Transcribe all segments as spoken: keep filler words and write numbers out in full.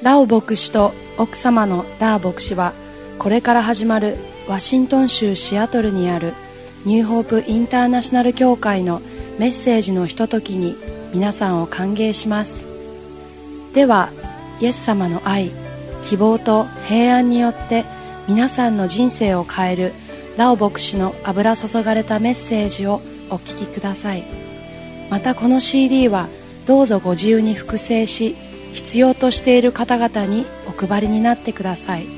ラオ牧師と奥様のダー牧師は、これから始まるワシントン州シアトルにあるニューホープインターナショナル教会のメッセージのひとときに皆さんを歓迎します。では、イエス様の愛、希望と平安によって皆さんの人生を変えるラオ牧師の油注がれたメッセージをお聞きください。またこの シーディー はどうぞご自由に複製し、必要としている方々にお配りになってください。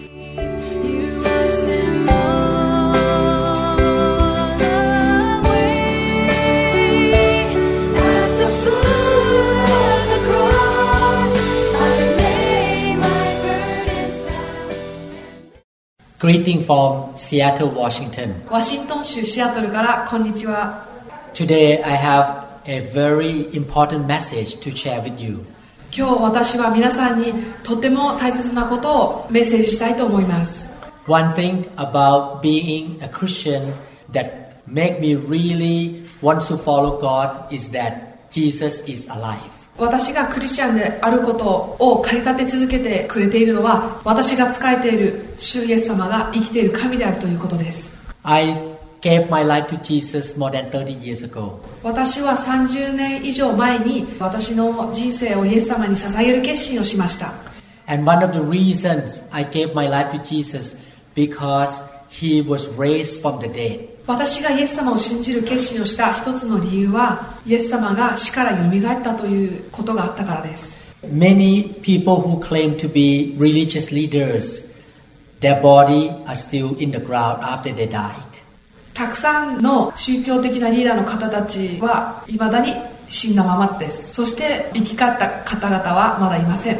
Greeting from Seattle, Washington. ワシントン州シアトルからこんにちは。 Today I have a very important message to share with you. 今日私は皆さんにとても大切なことをメッセージしたいと思います。 One thing about being a Christian that make me really want to follow God is that Jesus is alive. 私がクリスチャンであることを駆り立て続けてくれているのは、私が仕えている主イエス様が生きている神であるということです。 I gave my life to Jesus more than thirty years ago. 私はさんじゅうねん以上前に私の人生をイエス様に捧げる決心をしました。 And one of the reasons I gave my life to Jesus because He was raised from the dead. 私がイエス様を信じる決心をした一つの理由は、イエス様が死からよみがえったということがあったからです。 Many people who claim to be religious leaders, their body are still in the ground after they died. たくさんの宗教的なリーダーの方たちは未だに死んだままです。そして生き返った方々はまだいません。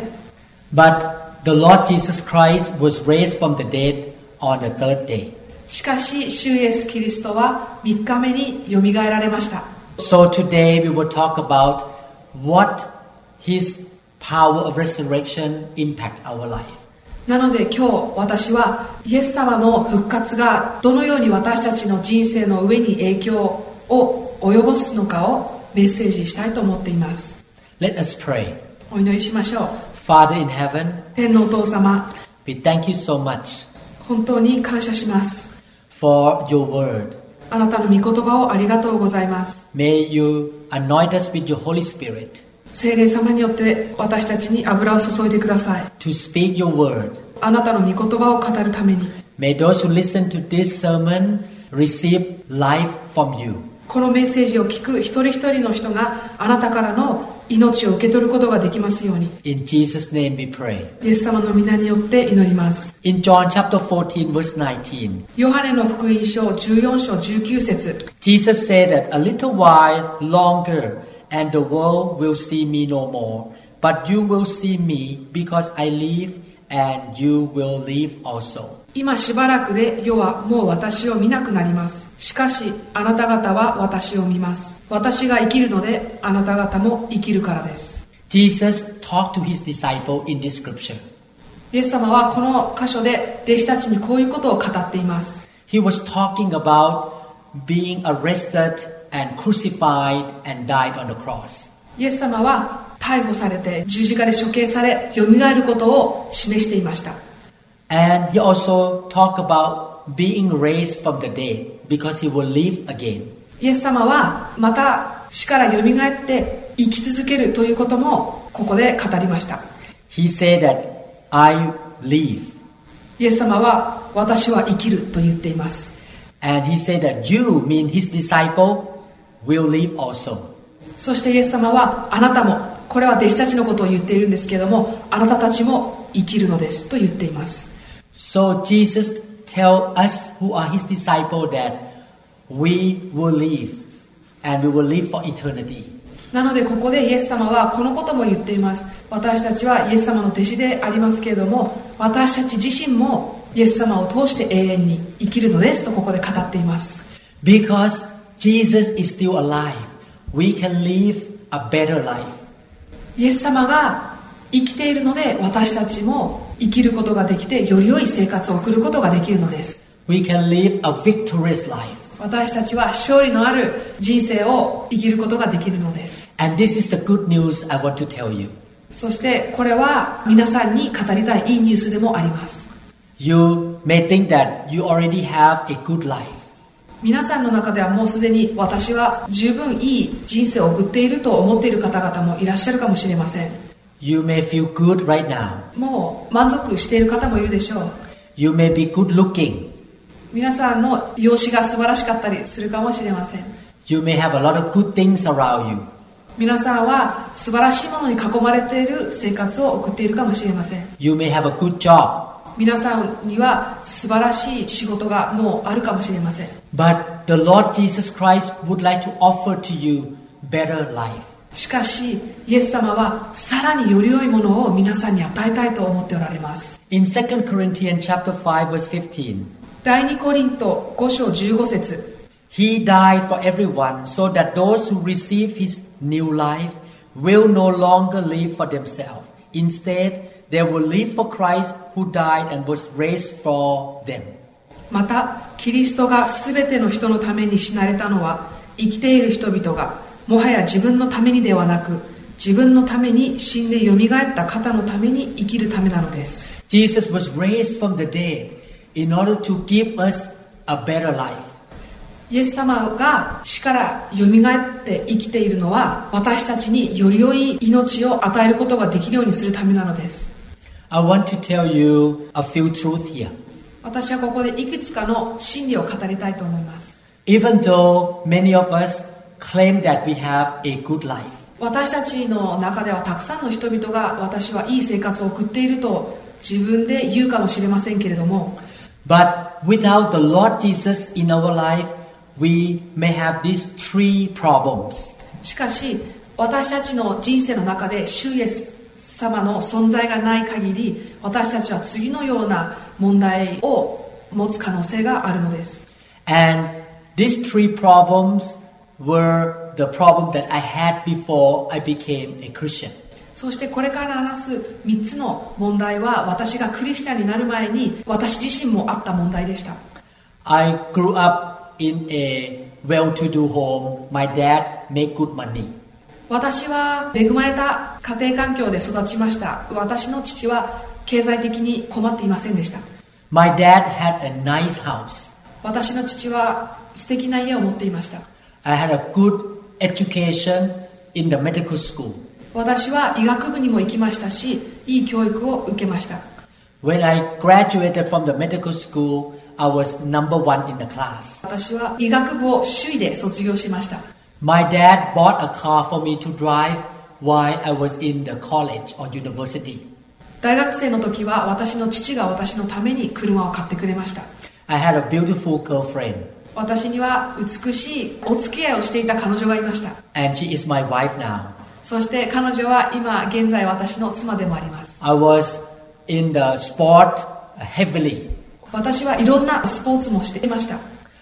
But the Lord Jesus Christ was raised from the dead on the third day. しかし主イエスキリストはみっかめによみがえられました。 So today we will talk about what His power of resurrection impact our life. なので今日私はイエス様の復活がどのように私たちの人生の上に影響を及ぼすのかをメッセージしたいと思っています。 Let us pray. お祈りしましょう。 Father in heaven, 天のお父様、 we thank you so much 本当に感謝します。 for your word. あなたの御言葉をありがとうございます。 May you anoint us with your Holy Spirit 聖霊様によって私たちに油を注いでください。 to speak your word. あなたの御言葉を語るために、 May those who listen to this sermon receive life from you. このメッセージを聞く一人一人の人があなたからの命を受け取ることができますように。 In Jesus' name we pray. イエス様の皆によって祈ります。 In John chapter fourteen verse nineteen, ヨハネの福音書じゅうよん章じゅうきゅう節、 Jesus said that a little while longer and the world will see me no more, but you will see me because I live and you will live also. 今しばらくで世はもう私を見なくなります。しかしあなた方は私を見ます。私が生きるのであなた方も生きるからです。 Jesus talked to his disciple in this scripture. イエス様はこの箇所で弟子たちにこういうことを語っています。 He was talking about being arrested and crucified and died on the cross. イエス様は逮捕されて十字架で処刑されよみがえることを示していました。 And he also talked about being raised from the dead because he will live again. イエス様はまた死からよみがえって生き続けるということもここで語りました。 He said that I live. イエス様は私は生きると言っています。 And he said that you, mean his disciple, will live also. そしてイエス様はあなたも、これは弟子たちのことを言っているんですけれども、あなたたちも生きるのですと言っています。 So Jesus tell us who are his disciple that we will live and we will live for eternity. なのでここでイエス様はこのことも言っています。私たちはイエス様の弟子でありますけれども、私たち自身もイエス様を通して永遠に生きるのですとここで語っています。 Because Jesus is still alive, we can live a better life. イエス様が生きているので私たちも生きることができてより良い生活を送ることができるのです。 We can live a victorious life. 私たちは勝利のある人生を生きることができるのです。 And this is the good news I want to tell you. そしてこれは皆さんに語りたいいいニュースでもあります。 You may think that you already have a good life. 皆さんの中ではもうすでに私は十分いい人生を送っていると思っている方々もいらっしゃるかもしれません。 You may feel good right now. もう満足している方もいるでしょう。 You may be good looking. 皆さんの容姿が素晴らしかったりするかもしれません。 You may have a lot of good things around you. 皆さんは素晴らしいものに囲まれている生活を送っているかもしれません。 You may have a good job. 皆さんには素晴らしい仕事がもうあるかもしれません。 But the Lord Jesus Christ would like to offer to you better life. しかしイエス様はさらにより良いものを皆さんに与えたいと思っておられます。 In Second Corinthians chapter five verse fifteen, 第二コリントご章じゅうご節、 He died for everyone so that those who receive His new life will no longer live for themselves. Instead, they will live for Christ who died and was raised for them. またキリストがすべての人のために死なれたのは、生きている人々がもはや自分のためにではなく、自分のために死んでよみがえった方のために生きるためなのです。 Jesus was raised from the dead in order to give us a better life. イエス様が死からよみがえって生きているのは、私たちにより良い命を与えることができるようにするためなのです。 I want to tell you a few truths here. 私はここでいくつかの真理を語りたいと思います。 Even though many of us claim that we have a good life, 私たちの中ではたくさんの人々が私はいい生活を送っていると自分で言うかもしれませんけれども、 but without the Lord Jesus in our life, we may have these three problems. しかし私たちの人生の中で主イエス様の存在がない限り、私たちは次のような問題を持つ可能性があるのです。 And these three problems were the problem that I had before I became a Christian. そしてこれから話すみっつの問題は、私がクリスチャンになる前に私自身もあった問題でした。 I grew up in a well-to-do home. My dad made good money. 私は恵まれた家庭環境で育ちました。私の父は経済的に困っていませんでした。 My dad had a nice house. 私の父は素敵な家を持っていました。 I had a good education in the medical school. 私は医学部にも行きましたし、いい教育を受けました。 When I graduated from the medical school, I was number one in the class. 私は医学部を首位で卒業しました。 My dad bought a car for me to drive while I was in the college or university. 大学生の時は私の父が私のために車を買ってくれました。 I had a beautiful girlfriend. 私には美しいお付き合いをしていた彼女がいました。 And she is my wife now. そして彼女は今現在私の妻でもあります。 I was in the sport heavily. 私はいろんなスポーツもしていました。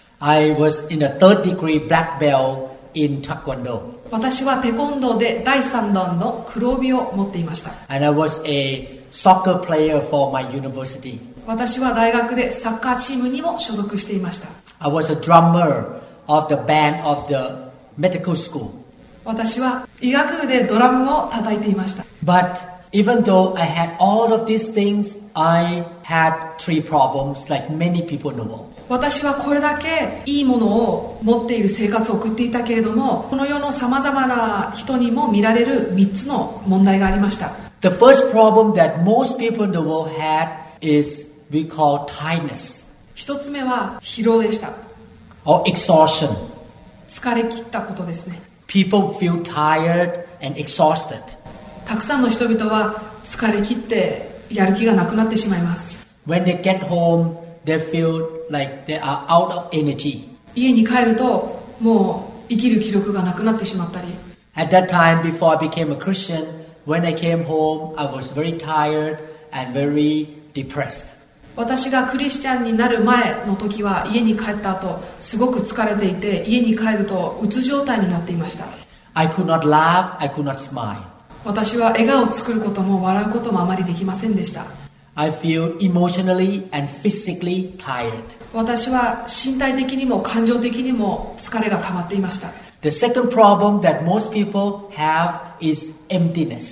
I was in the third degree black belt in Taekwondo. 私はテコンドーでだいさん段の黒帯を持っていました。 And I was a soccer player for my university. 私は大学でサッカーチームにも所属していました。 I was a drummer of the band of the medical school. 私は医学部でドラムを叩いていました。 But even though I had all of these things, I had three problems like many people in the world. 私はこれだけいいものを持っている生活を送っていたけれども、この世のさまざまな人にも見られるみっつの問題がありました。 The first problem that most people in the world had is we call tiredness 一つ目は疲労でした。 or exhaustion. 疲れ切ったことですね。 People feel tired and exhausted. たくさんの人々は疲れ切ってやる気がなくなってしまいます。 When they get home, they feel like they are out of energy. 家に帰るともう生きる気力がなくなってしまったり、 At that time, before I became a Christian, when I came home, I was very tired and very depressed. 私がクリスチャンになる前の時は家に帰った後すごく疲れていて、家に帰るとうつ状態になっていました。 I could not laugh, I could not smile. 私は笑顔を作ることも笑うこともあまりできませんでした。 I feel emotionally and physically tired. 私は身体的にも感情的にも疲れが溜まっていました。 The second problem that most people have is emptiness.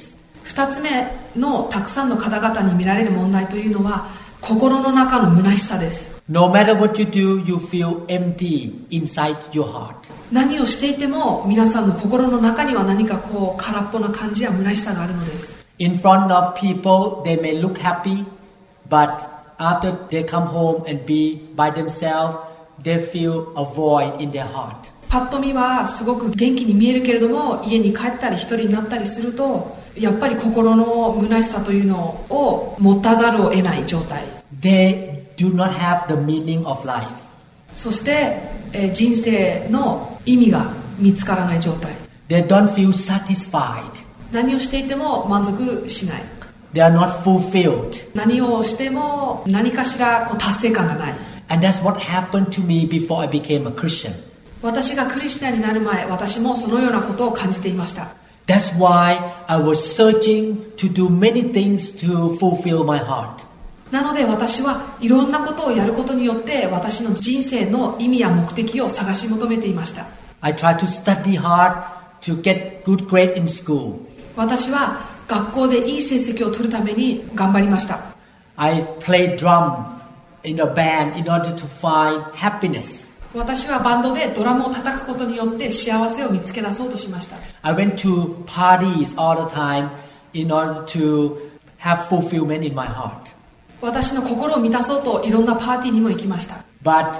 二つ目のたくさんの方々に見られる問題というのは心の中の虚しさです。 No matter what you do, you feel empty inside your heart. 何をしていても皆さんの心の中には何かこう空っぽな感じや虚しさがあるのです。 In front of people, they may look happy, but after they come home and be by themselves, they feel a void in their heart. パッと見はすごく元気に見えるけれども、家に帰ったり一人になったりするとやっぱり心の虚しさというのを持たざるを得ない状態。 They do not have the meaning of life. そして、えー人生の意味が見つからない状態。 They don't feel satisfied. 何をしていても満足しない。 They are not fulfilled. 何をしても何かしらこう達成感がない。 And that's what happened to me before I became a Christian. 私がクリスチャンになる前、私もそのようなことを感じていました。 That's why I was searching to do many things to fulfill my heart. なので私はいろんなことをやることによって私の人生の意味や目的を探し求めていました。 I tried to study hard to get good grade in school. 私は学校でいい成績を取るために頑張りました。 I played drum in a band in order to find happiness. 私はバンドでドラムを叩くことによって幸せを見つけ出そうとしました。 I went to parties all the time in order to have fulfillment in my heart. 私の心を満たそうといろんなパーティーにも行きました。 But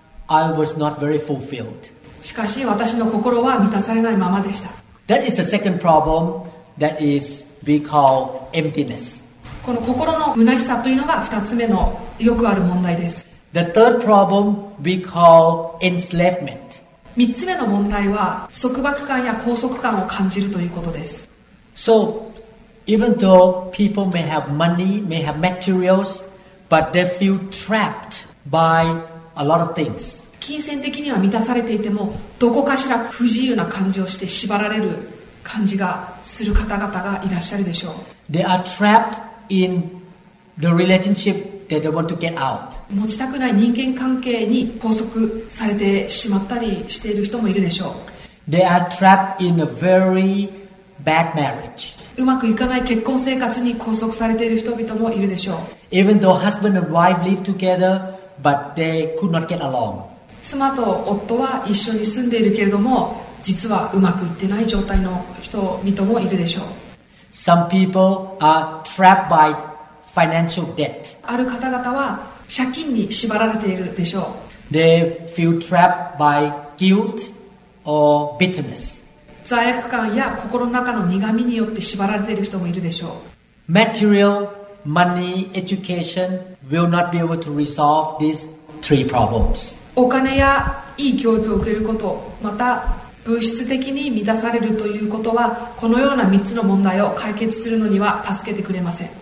I was not very fulfilled. しかし私の心は満たされないままでした。 That is the second problem that is we call emptiness. この心の虚しさというのがふたつめのよくある問題です。 The third problem we call enslavement. みっつめの問題は束縛感や拘束感を感じるということです。 So even though people may have money, may have materials, but they feel trapped by a lot of things. 金銭的には満たされていてもどこかしら不自由な感じをして縛られる感じがする方々がいらっしゃるでしょう。 They are trapped in the relationship that they want to get out. 持ちたくない人間関係に拘束されてしまったりしている人もいるでしょう。 They are trapped in a very bad marriage. うまくいかない結婚生活に拘束されている人々もいるでしょう。 Even though husband and wife live together, but they could not get along. 妻と夫は一緒に住んでいるけれども実はうまくいってない状態の人々もいるでしょう。 Some people are trapped by financial debt. ある方々は借金に縛られているでしょう。 They feel trapped by guilt or bitterness. 罪悪感や心の中の苦みによって縛られている人もいるでしょう。 Material, money, education will not be able to resolve these three problems. お金やいい教育を受けること、また物質的に満たされるということはこのようなみっつの問題を解決するのには助けてくれません。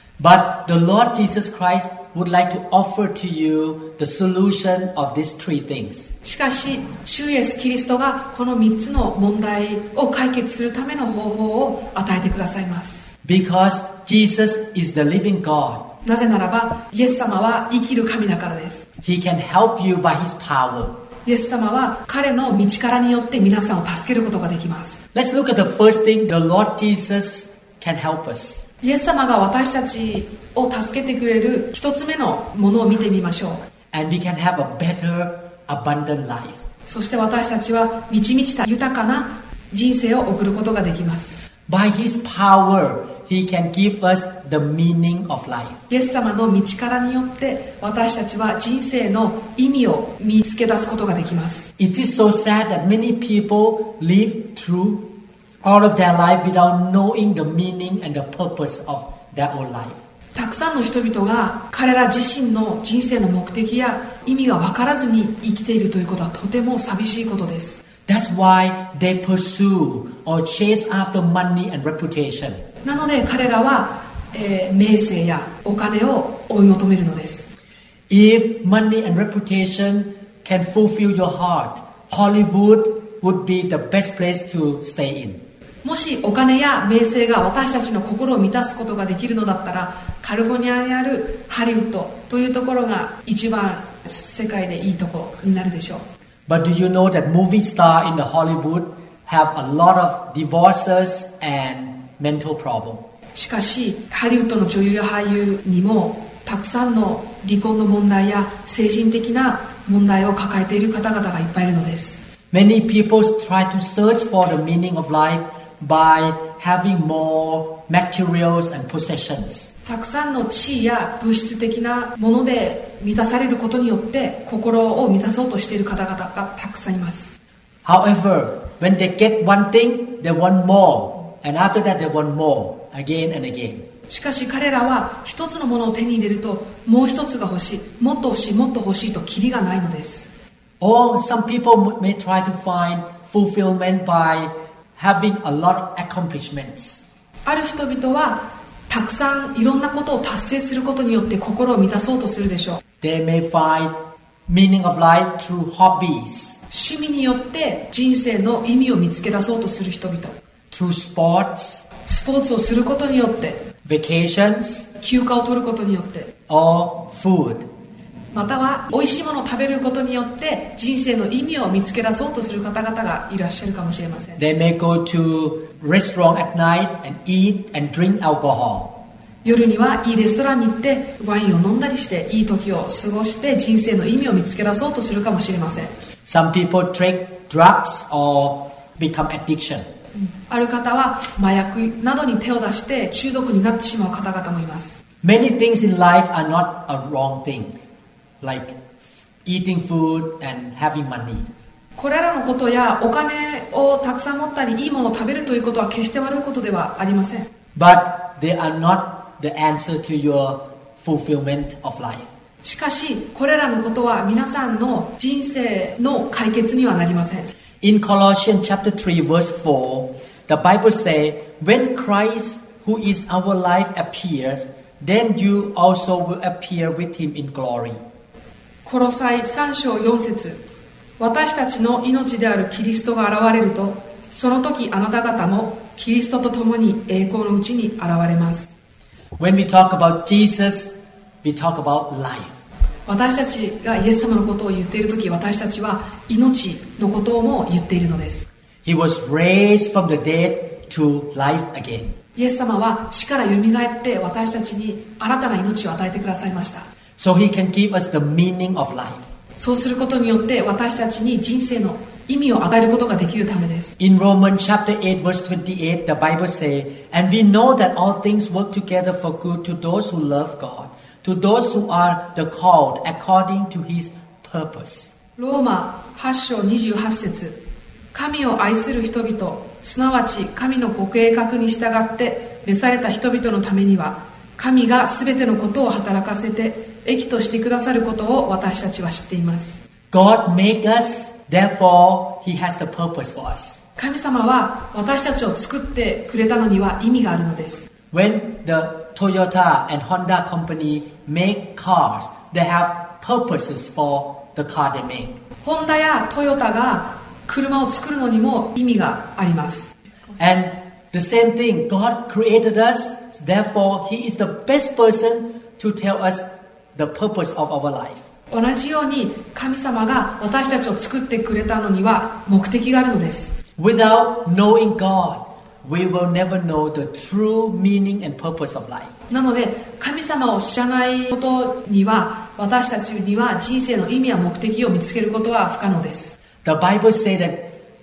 But the Lord Jesus Christ would like to offer to you the solution of these three things. しかし主イエスキリストがこのみっつの問題を解決するための方法を与えてくださいます。 Because Jesus is the living God. なぜならばイエス様は生きる神だからです。 He can help you by His power. イエス様は彼の道からによって皆さんを助けることができます。 Let's look at the first thing. The Lord Jesus can help us. イエス様が私たちを助けてくれる一つ目のものを見てみましょう。 And we can have a better, abundant life. そして私たちは満ち満ちた豊かな人生を送ることができます。 By His power, He can give us the meaning of life. イエス様の道からによって私たちは人生の意味を見つけ出すことができます。 It is so sad that many people live through all of their life without knowing the meaning and the purpose of their own life. たくさんの人々が彼ら自身の人生の目的や意味が分からずに生きているということはとても寂しいことです。 That's why they pursue or chase after money and reputation. なので彼らは、えー、名声やお金を追い求めるのです。 If money and reputation can fulfill your heart, Hollywood would be the best place to stay in. もしお金や名声が私たちの心を満たすことができるのだったらカリフォルニアにあるハリウッドというところが一番世界でいいところになるでしょう。 But do you know that movie stars in the Hollywood have a lot of divorces and mental problems? しかしハリウッドの女優や俳優にもたくさんの離婚の問題や精神的な問題を抱えている方々がいっぱいいるのです。 Many people try to search for the meaning of life by having more materials and possessions. たくさんの地位や物質的なもので満たされることによって心を満たそうとしている方々がたくさんいます。 However, when they get one thing, they want more, and after that they want more, again and again. しかし彼らは一つのものを手に入れるともう一つが欲しい、もっと欲しい、もっと欲しいとキリがないのです。 Or some people may try to find fulfillment by having a lot of accomplishments. ある人々はたくさんいろんなことを達成することによって心を満たそうとするでしょう。 They may find meaning of life through hobbies, 趣味によって人生の意味を見つけ出そうとする人々、 through sports, スポーツをすることによって、 vacations, 休暇を取ることによって、 or food. または美味しいものを食べることによって人生の意味を見つけ出そうとする方々がいらっしゃるかもしれません。 They may go to restaurant at night and eat and drink alcohol. 夜にはいいレストランに行ってワインを飲んだりしていい時を過ごして人生の意味を見つけ出そうとするかもしれません。 Some people take drugs or become addiction. ある方は麻薬などに手を出して中毒になってしまう方々もいます。 Many things in life are not a wrong thing, like eating food and having money. これらのことやお金をたくさん持ったりいいものを食べるということは決して悪いことではありません。 But they are not the answer to your fulfillment of life. しかしこれらのことは皆さんの人生の解決にはなりません。 In Colossians chapter three verse four, the Bible says, when Christ, who is our life, appears, then you also will appear with him in glory. コロサイさん章よん節、私たちの命であるキリストが現れると、その時あなた方もキリストと共に栄光のうちに現れます。 When we talk about Jesus, we talk about life. 私たちがイエス様のことを言っている時、私たちは命のことをも言っているのです。 He was raised from the dead to life again. イエス様は死からよみがえって私たちに新たな命を与えてくださいました。 So he can give us the meaning of life. そうすることによって私たちに人生の意味を与えることができるためです。 In Romans chapter eight verse twenty-eight, the Bible says, and we know that all things work together for good to those who love God, to those who are the called according to his purpose. ローマはち章にじゅうはち節、神を愛する人々、すなわち神のご計画に従って召された人々のためには、神がすべてのことを働かせて益としてくださることを私たちは知っています。 God made us, therefore he has the purpose for us. 神様は私たちを作ってくれたのには意味があるのです。 When the Toyota and Honda company make cars, they have purposes for the car they make. ホンダやトヨタが車を作るのにも意味があります。 And the same thing, God created us, therefore he is the best person to tell us the purpose of our life. 同じように神様が私たちを作ってくれたのには目的があるのです。 Without knowing God, we will never know the true meaning and purpose of life. なので神様を知らないことには私たちには人生の意味や目的を見つけることは不可能です。 The Bible says that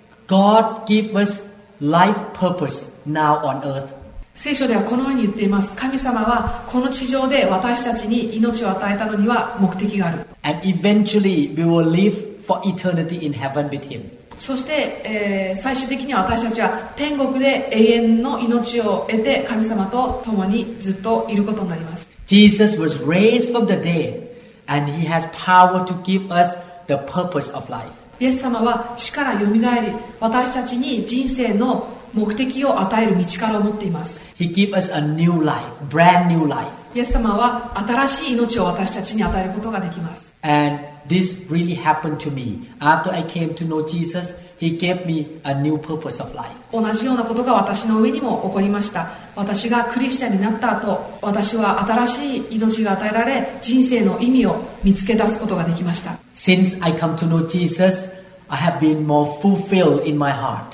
God gives us life purpose now on earth. 聖書ではこのように言っています。神様はこの地上で私たちに命を与えたのには目的がある。 And eventually we will live for eternity in heaven with him. そして、えー、最終的には私たちは天国で永遠の命を得て神様と共にずっといることになります。 Jesus was raised from the dead and he has power to give us the purpose of life. イエス様は死からよみがえり、私たちに人生の目的を与える道からを持っています。 He gives us a new life, brand new life. イエス様は新しい命を私たちに与えることができます。 And this really happened to me. After I came to know Jesus, he gave me a new purpose of life. 同じようなことが私の上にも起こりました。私がクリスチャンになった後、私は新しい命が与えられ、人生の意味を見つけ出すことができました。 Since I come to know Jesus, I have been more fulfilled in my heart.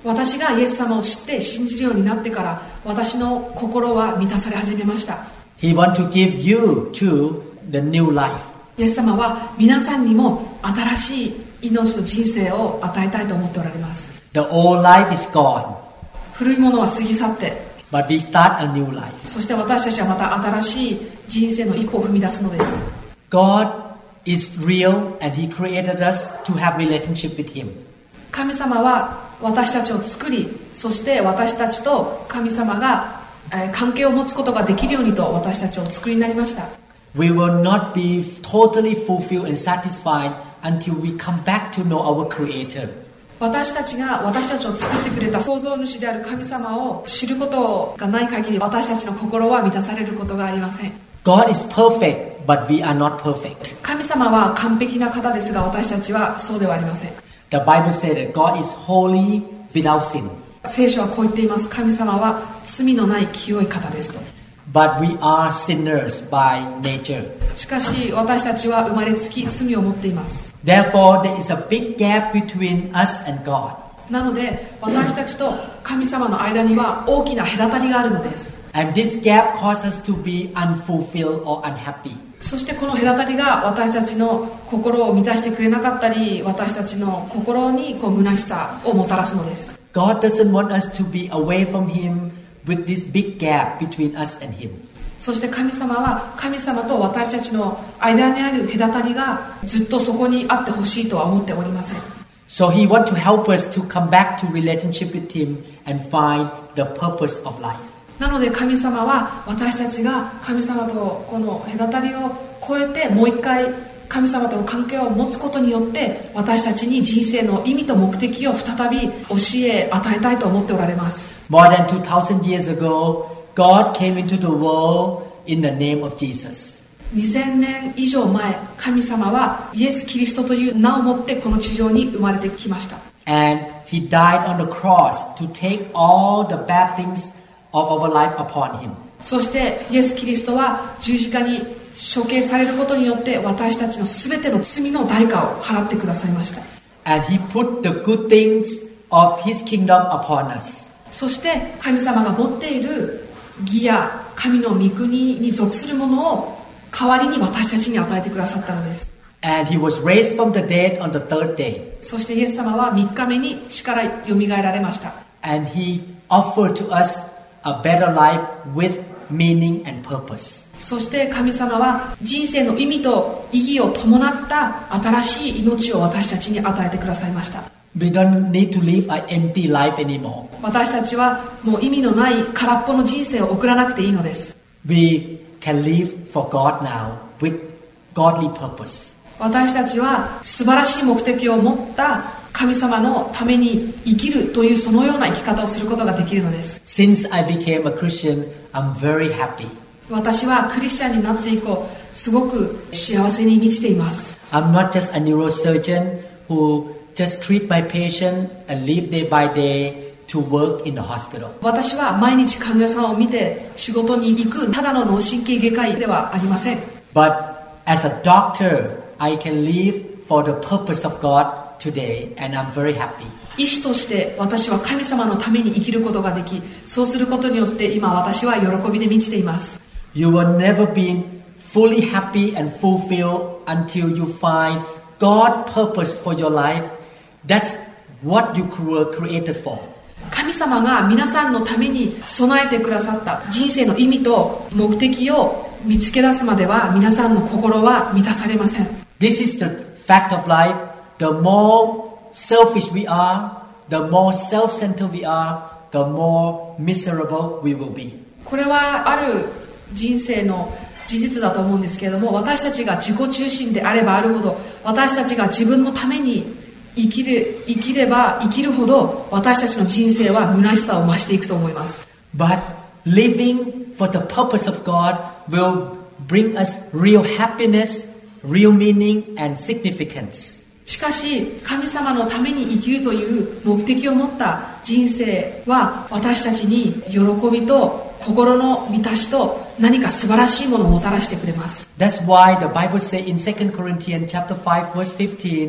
私がイエス様を知って信じるようになってから私の心は満たされ始めました。 He wants to give you too the new life. イエス様は皆さんにも新しい命と人生を与えたいと思っておられます。 The old life is gone, 古いものは過ぎ去って、 but we start a new life. そして私たちはまた新しい人生の一歩を踏み出すのです。 God is real and He created us to have relationship with Him. 神様は私たちを作り、そして私たちと神様が、えー、関係を持つことができるようにと私たちをお作りになりました。 We will not be totally fulfilled and satisfied until we come back to know our Creator. 私たちが私たちを作ってくれた創造主である神様を知ることがない限り、私たちの心は満たされることがありません。 God is perfect, but we are not perfect. 神様は完璧な方ですが、私たちはそうではありません。 The Bible says that God is holy without sin. 聖書はこう言っています。神様は罪のない清い方ですと。 But we are sinners by nature. しかし私たちは生まれつき罪を持っています。 Therefore, there is a big gap between us and God. なので私たちと神様の間には大きな隔たりがあるのです。 And this gap causes us to be unfulfilled or unhappy. そしてこの隔たりが私たちの心を満たしてくれなかったり、私たちの心にこう虚しさをもたらすのです。 God doesn't want us to be away from Him with this big gap between us and Him. そして神様は神様と私たちの間にある隔たりがずっとそこにあってほしいとは思っておりません。 So He wants to help us to come back to relationship with Him and find the purpose of life. なので神様は私たちが神様とこの隔たりを越えてもう一回神様との関係を持つことによって私たちに人生の意味と目的を再び教え与えたいと思っておられます。 More than two thousand years ago, God came into the world in the name of Jesus. にせんねん以上前、神様はイエス・キリストという名を持ってこの地上に生まれてきました。 And He died on the cross to take all the bad things of our life upon Him. そしてイエス・キリストは十字架に処刑されることによって私たちのすべての罪の代価を払ってくださいました。 And He put the good things of His kingdom upon us. そして神様が持っている義や神の御国に属するものを代わりに私たちに与えてくださったのです。 And He was raised from the dead on the third day. そしてイエス様はみっかめに死からよみがえられました。 And He offered to us a better life with meaning and purpose. そして神様は人生の意味と意義を伴った新しい命を私たちに与えてくださいました。 We don't need to live an empty life anymore. 私たちはもう意味のない空っぽの人生を送らなくていいのです。 We can live for God now with godly purpose. 私たちは素晴らしい目的を持った神様のために生きるというそのような生き方をすることができるのです。 Since I became a Christian, I'm very happy. 私はクリスチャンになって以降すごく幸せに満ちています。 I'm not just a neurosurgeon who just treat my patient and live day by day to work in the hospital. 私は毎日患者さんを見て仕事に行くただの脳神経外科医ではありません。 But as a doctor, I can live for the purpose of God today, and I'm very happy. 医師として私は神様のために生きることができ、そうすることによって今私は喜びで満ちています。 You will never be fully happy and fulfilled until you find God's purpose for your life. That's what you were created for. 神様が皆さんのために備えてくださった人生の意味と目的を見つけ出すまでは皆さんの心は満たされません。 This is the fact of life. The more selfish we are, the more self-centered we are, the more miserable we will be. これはある人生の事実だと思うんですけれども、私たちが自己中心であればあるほど、私たちが自分のために生きる、生きれば生きるほど私たちの人生は虚しさを増していくと思います。 But living for the purpose of God will bring us real happiness, real meaning, and significance. しかし神様のために生きるという目的を持った人生は私たちに喜びと心の満たしと何か素晴らしいものをもたらしてくれます。 That's why the Bible says in Second Corinthians chapter five verse fifteen,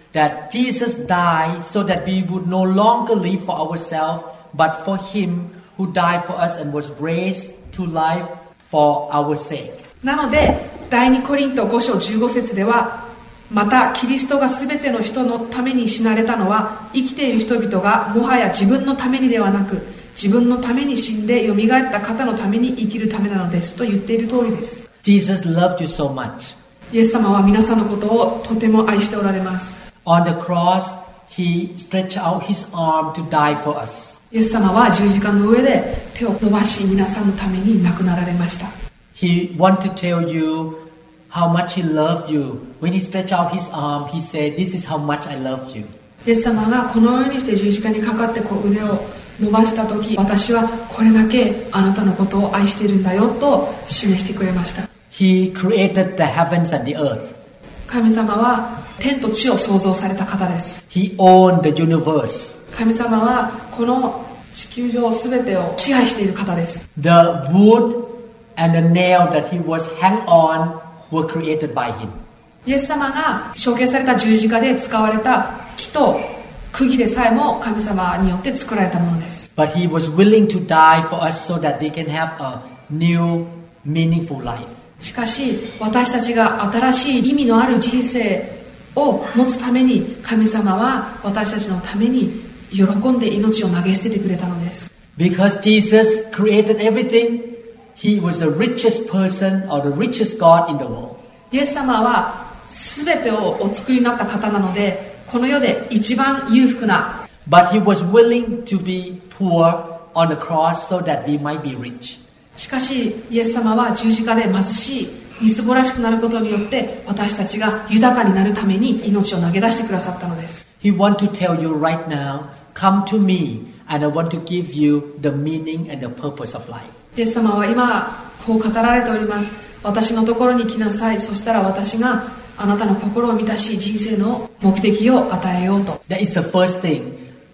that Jesus died so that we would no longer live for ourselves, but for Him who died for us and was raised to life for our sake. なので第二コリントご章じゅうご節では、またキリストがすべての人のために死なれたのは、生きている人々がもはや自分のためにではなく、自分のために死んでよみがえった方のために生きるためなのですと言っている通りです。 Jesus loved you so much. イエス様は皆さんのことをとても愛しておられます。 On the cross, He stretched out His arm to die for us. イエス様は十字架の上で手を伸ばし、皆さんのために亡くなられました。 He wanted to tell you how much He loved you. When He stretched out His arm, He said, "This is how much I loved you." イエス様がこのようにして十字架にかかってこう腕を伸ばした時、私はこれだけあなたのことを愛しているんだよと示してくれました。 He created the heavens and the earth. 神様は天と地を創造された方です。 He owned the universe. 神様はこの地球上すべてを支配している方です。 The wood and the nail that He was hung on were created by Him. イエス様が処刑された十字架で使われた木と釘でさえも神様によって作られたものです。 But He was willing to die for us so that we can have a new, meaningful life. しかし私たちが新しい意味のある人生を持つために、神様は私たちのために喜んで命を投げ捨ててくれたのです。 Because Jesus created everything, He was the richest person or the richest God in the world. イエス様は全てをお作りになった方なので、この世で一番裕福な。 But He was willing to be poor on the cross so that we might be rich. しかしイエス様は十字架で貧しい、みすぼらしくなることによって私たちが豊かになるために命を投げ出してくださったのです。 He wants to tell you right now, come to me and I want to give you the meaning and the purpose of life. イエス様は今こう語られております。私のところに来なさい、そしたら私があなたの心を満たし、人生の目的を与えようと。 That is the first thing.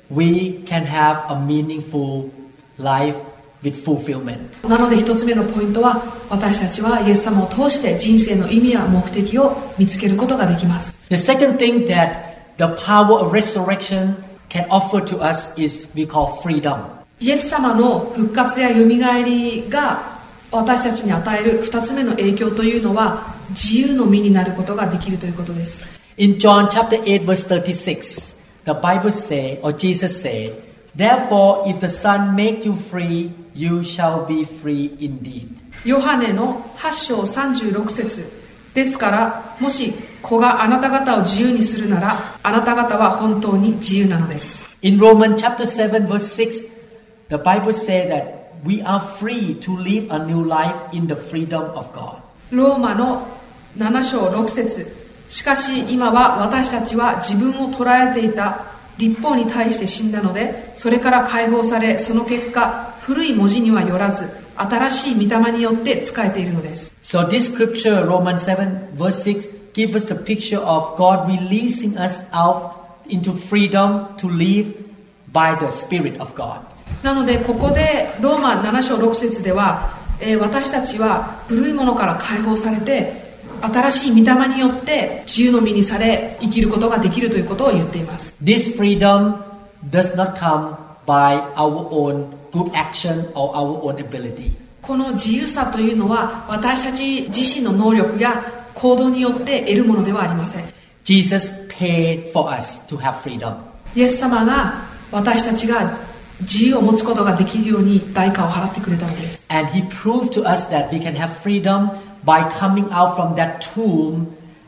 We can have a meaningful life with fulfillment. なので一つ目のポイントは、私たちはイエス様を通して人生の意味や目的を見つけることができます。 The second thing that the power of resurrection can offer to us is we call freedom. イエス様の復活やよみがえりが私たちに与える二つ目の影響というのは、自由の身になることができるということです。 In John chapter eight verse thirty-six, the Bible say, or Jesus said, "Therefore, if the Son make you free, you shall be free indeed." ヨハネのはち章さんじゅうろく節ですから、もし子があなた方を自由にするなら、あなた方は本当に自由なのです。 In Romans chapter seven verse six, the Bible say that we are free to live a new life in the freedom of God. ローマのなな章ろく節、しかし今は私たちは自分を捉えていた律法に対して死んだので、それから解放され、その結果古い文字にはよらず新しい御霊によって仕えているのです。 So this scripture, Romans seven verse six, gives us the picture of God releasing us out into freedom to live by the Spirit of God. なのでここでローマなな章ろく節では、えー、私たちは古いものから解放されて、新しい御霊によって自由の身にされ生きることができるということを言っています。 This freedom does not come by our own good action or our own ability. この自由さというのは私たち自身の能力や行動によって得るものではありません。 Jesus paid for us to have freedom. イエス様が私たちが自由を持つことができるように代価を払ってくれたのです。 And He proved to us that we can have freedom by coming out from that tomb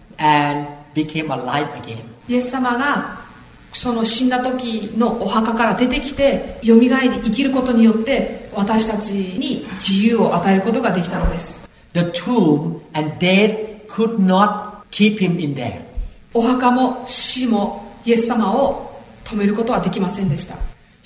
and became alive again. イエス様がその死んだ時のお墓から出てきてよみがえり生きることによって私たちに自由を与えることができたのです。 The tomb and death could not keep Him in there. お墓も死もイエス様を止めることはできませんでした。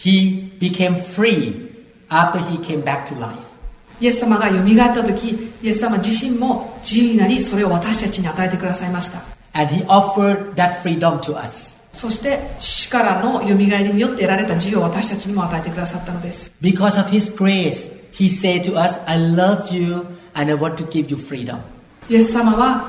He became free after He came back to life. イエス様がよみがえった時、イエス様自身も自由になり、それを私たちに与えてくださいました。 And He offered that freedom to us. そして死からのよみがえりによって得られた自由を私たちにも与えてくださったのです。 Because of His grace, He said to us, I love you and I want to give you freedom. イエス様は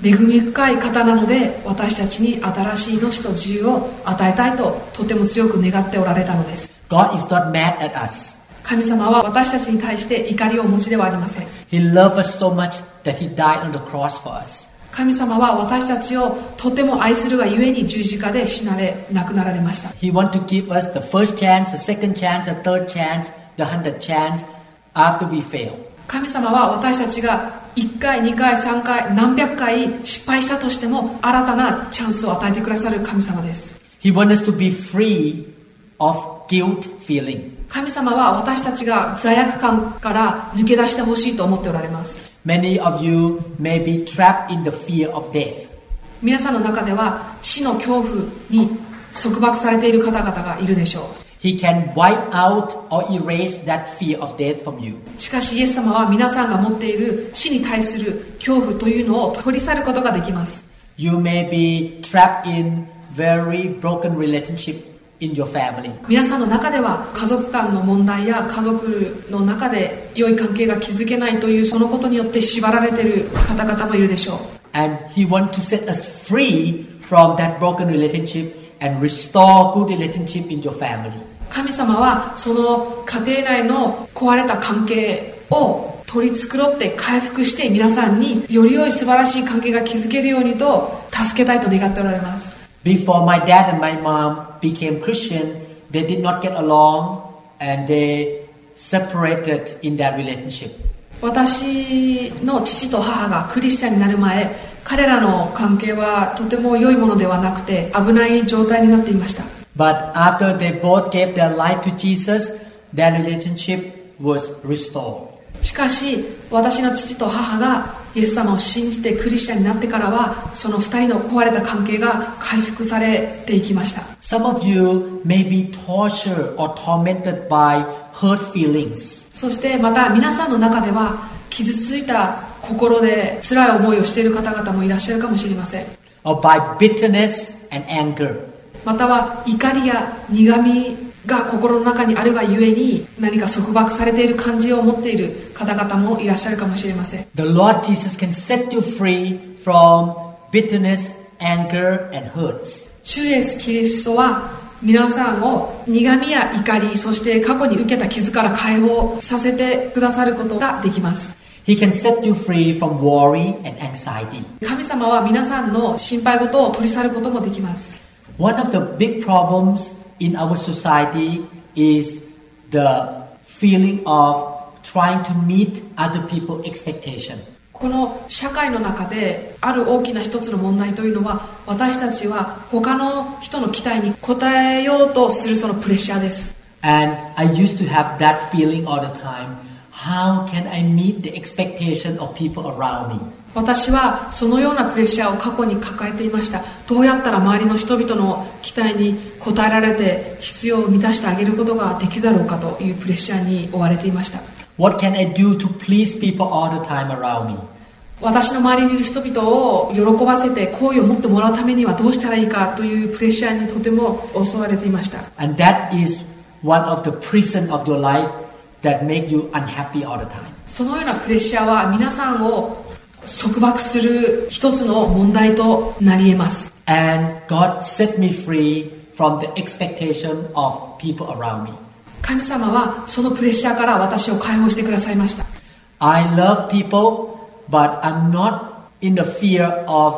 恵み深い方なので、私たちに新しい命と自由を与えたいととても強く願っておられたのです。 God is not mad at us. 神様は私たちに対して怒りをお持ちではありません。 He loved us so much that He died on the cross for us. 神様は私たちをとても愛するがゆえに十字架で死なれ亡くなられました。 He wants to give us the first chance, the second chance, the third chance, the hundredth chance after we fail. 神様は私たちがいっかい、にかい、さんかい、何百回失敗したとしても新たなチャンスを与えてくださる神様です。 He wants us to be free of guilt feeling. 神様は私たちが罪悪感から抜け出してほしいと思っておられます。 Many of you may be trapped in the fear of death. 皆さんの中では死の恐怖に束縛されている方々がいるでしょう。 He can wipe out or erase that fear of death from you. しかしイエス様は皆さんが持っている死に対する恐怖というのを取り去ることができます。 You may be trapped in very broken relationship in your family. 皆さんの中では家族間の問題や家族の中で良い関係が築けないというそのことによって縛られている方々もいるでしょう。 And He wants to set us free from that broken relationship and restore good relationship in your family. 神様はその家庭内の壊れた関係を取り繕って回復して皆さんにより良い素晴らしい関係が築けるようにと助けたいと願っておられます。 Before my dad and my mom became Christian, they did not get along and they separated in that relationship. 私の父と母がクリスチャンになる前、彼らの関係はとても良いものではなくて危ない状態になっていました。 But after they both gave their life to Jesus, their relationship was restored. しかし私の父と母がイエス様を信じてクリスチャンになってからはその二人の壊れた関係が回復されていきました。 Some of you may be tortured or tormented by hurt feelings. そしてまた皆さんの中では傷ついた心で辛い思いをしている方々もいらっしゃるかもしれません。 Or by bitterness and anger. または怒りや苦みが心の中にあるがゆえに何か束縛されている感じを持っている方々もいらっしゃるかもしれません。 The Lord Jesus can set you free from bitterness, anger, and hurts. 主イエスキリストは皆さんを苦みや怒り、そして過去に受けた傷から解放させてくださることができます。 He can set you free from worry and anxiety. 神様は皆さんの心配事を取り去ることもできます。 One of the big problems in our society is the feeling of trying to meet other people's expectation. この社会の中である大きな一つの問題というのは私たちは他の人の期待に応えようとするそのプレッシャーです。 And I used to have that feeling all the time. How can I meet the expectation of people around me? 私はそのようなプレッシャーを過去に抱えていました。どうやったら周りの人々の期待に応えられて必要を満たしてあげることができるだろうかというプレッシャーに追われていました。 What can I do to please people all the time around me? 私の周りにいる人々を喜ばせて好意を持ってもらうためにはどうしたらいいかというプレッシャーにとても襲われていました。 And that is one of the prison of your life that make you unhappy all the time. そのようなプレッシャーは皆さんを束縛する一つの問題となり得ます。 And God set me free from the expectation of people around me. 神様はそのプレッシャーから私を解放してくださいました。 I love people, but I'm not in the fear of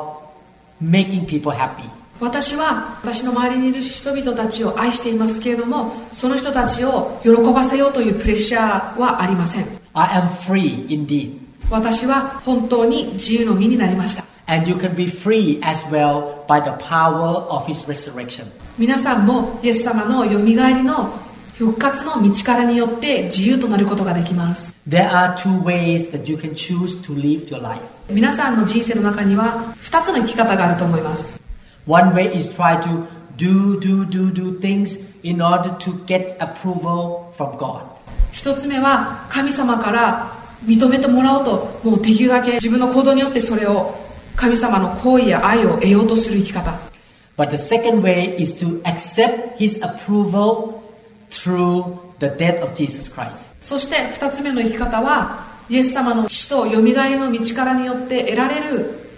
making people happy. 私は私の周りにいる人々たちを愛していますけれども、その人たちを喜ばせようというプレッシャーはありません。 I am free indeed. 私は本当に自由の身になりました。 And you can be free as well by the power of His resurrection. 皆さんもイエス様のよみがえりの復活の道からによって自由となることができます。 There are two ways that you can choose to live your life. 皆さんの人生の中にはふたつの生き方があると思います。 One way is try to do, do, do, do things in order to get approval from God. 一つ目は神様から認めてもらおうともうできるだけ自分の行動によってそれを神様の好意や愛を得ようとする生き方。 But the second way is to accept His approval through the death of Jesus Christ. そして二つ目の生き方はイエス様の死とよみがえりの道からによって得られる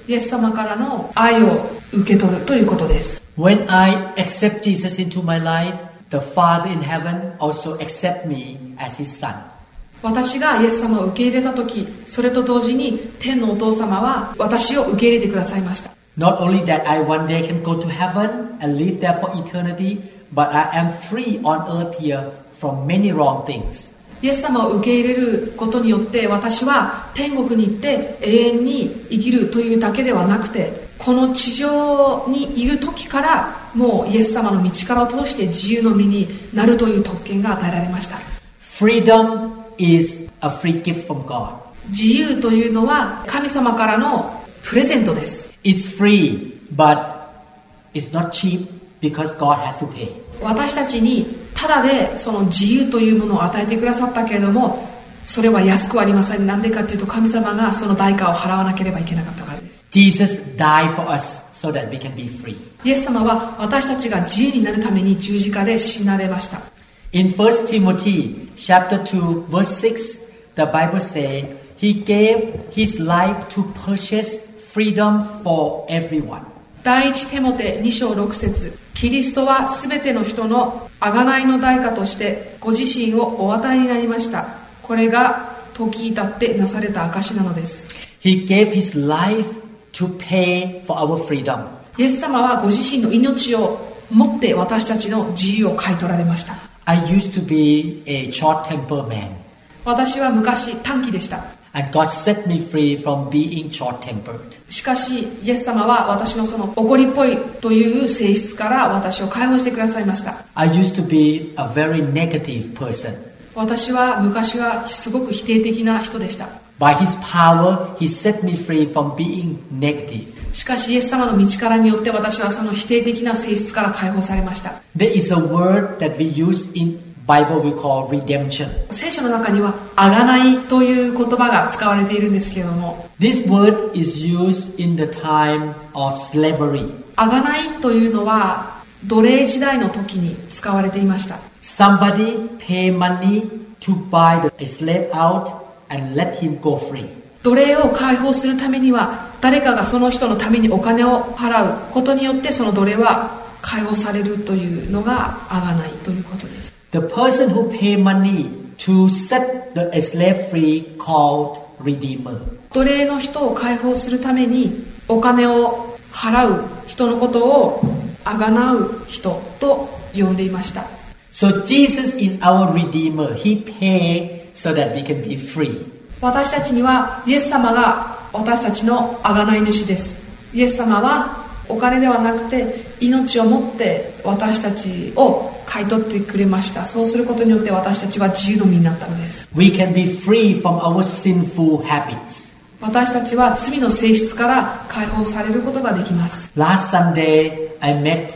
イエス様からの愛を受け取るということです。 When I accept Jesus into my life, the Father in heaven also accept me as his son. 私がイエス様を受け入れた時、それと同時に天のお父様は私を受け入れてくださいました。 Not only that I one day can go to heaven and live there for eternity, but I am free on earth here from many wrong things. イエス様を受け入れることによって私は天国に行って永遠に生きるというだけではなくて、この地上にいる時からもうイエス様の道からを通して自由の身になるという特権が与えられました。 Freedom is a free gift from God. 自由というのは神様からのプレゼントです。 It's free, but it's not cheap because God has to pay. 私たちにただでその自由というものを与えてくださったけれども、それは安くはありません。なんでかというと神様がその代価を払わなければいけなかったからです。 Jesus died for us so that we can be free. イエス様は私たちが自由になるために十字架で死なれました。 In First Timothy chapter two verse six, the Bible says he gave his life to purchase freedom for everyone. 第一テモテに章ろく節、キリストはすべての人の贖いの代価としてご自身をお与えになりました。これが時至ってなされた証なのです。 He gave his life to pay for our freedom. イエス様はご自身の命をもって私たちの自由を買い取られました。 I used to be a short-tempered man. 私は昔短気でした。 And God set me free from being short-tempered. しかしイエス様は私のその怒りっぽいという性質から私を解放してくださいました。 I used to be a very negative person. 私は昔はすごく否定的な人でした。 By his power, he set me free from being negative. しかしイエス様の道からによって私はその否定的な性質から解放されました。 There is a word that we use in Bible we call redemption. 聖書の中には贖いという言葉が使われているんですけれども、 This word is used in the time of slavery. 贖いというのは奴隷時代の時に使われていました。 Somebody pay money to buy the, a slave out and let him go free. 奴隷を解放するためには誰かがその人のためにお金を払うことによってその奴隷は解放されるというのが贖いということです。 The person who pay money to set the a slave free called redeemer. 奴隷の人を解放するためにお金を払う人のことを贖う人と呼んでいました。 So Jesus is our redeemer. He paid so that we can be free. 私たちにはイエス様が私たちの贖い主です。イエス様はお金ではなくて命をもって私たちを買い取ってくれました。そうすることによって私たちは自由の身になったのです。 We can be free from our sinful habits. 私たちは罪の性質から解放されることができます。 Last Sunday, I met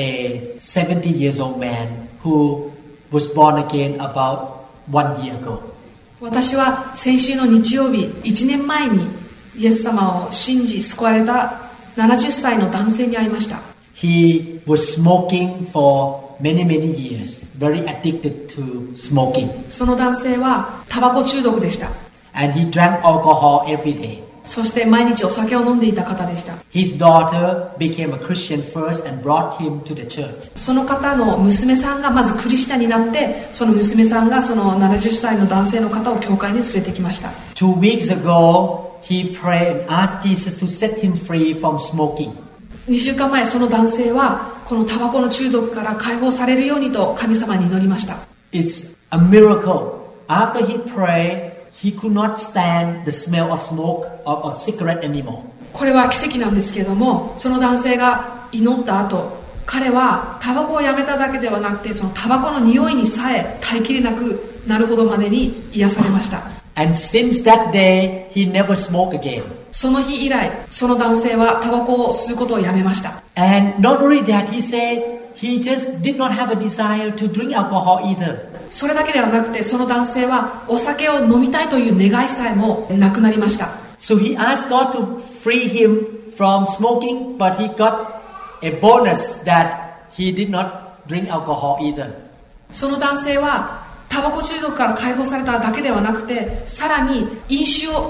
a seventy years old man who was born again about one year ago. 私は先週の日曜日いちねんまえにイエス様を信じ救われたななじゅっさいの男性に会いました。 He was smoking for many many years, very addicted to smoking. その男性はタバコ中毒でした。 And he drank alcohol every day. そして毎日お酒を飲んでいた方でした。 His daughter became a Christian first and brought him to the church. その方の娘さんがまずクリスチャンになって、その娘さんがそのななじゅっさいの男性の方を教会に連れてきました。 Two weeks ago, he prayed and asked Jesus to set him free from smoking. にしゅうかんまえその男性はこのタバコの中毒から解放されるようにと神様に祈りました。 It's a miracle. After he prayed, he could not stand the smell of smoke or of cigarette anymore. これは奇跡なんですけれども、その男性が祈った後、彼はタバコをやめただけではなくて、そのタバコの匂いにさえ耐えきれなくなるほどまでに癒されました。 And since that day, he never smoked again. その日以来、その男性はタバコを吸うことをやめました。 And not only that, he said he just did not have a desire to drink alcohol either. それだけではなくて、その男性はお酒を飲みたいという願いさえもなくなりました。 So he asked God to free him from smoking, but he got a bonus that he did not drink alcohol either. その男性はタバコ中毒から解放されただけではなくて、さらに飲酒を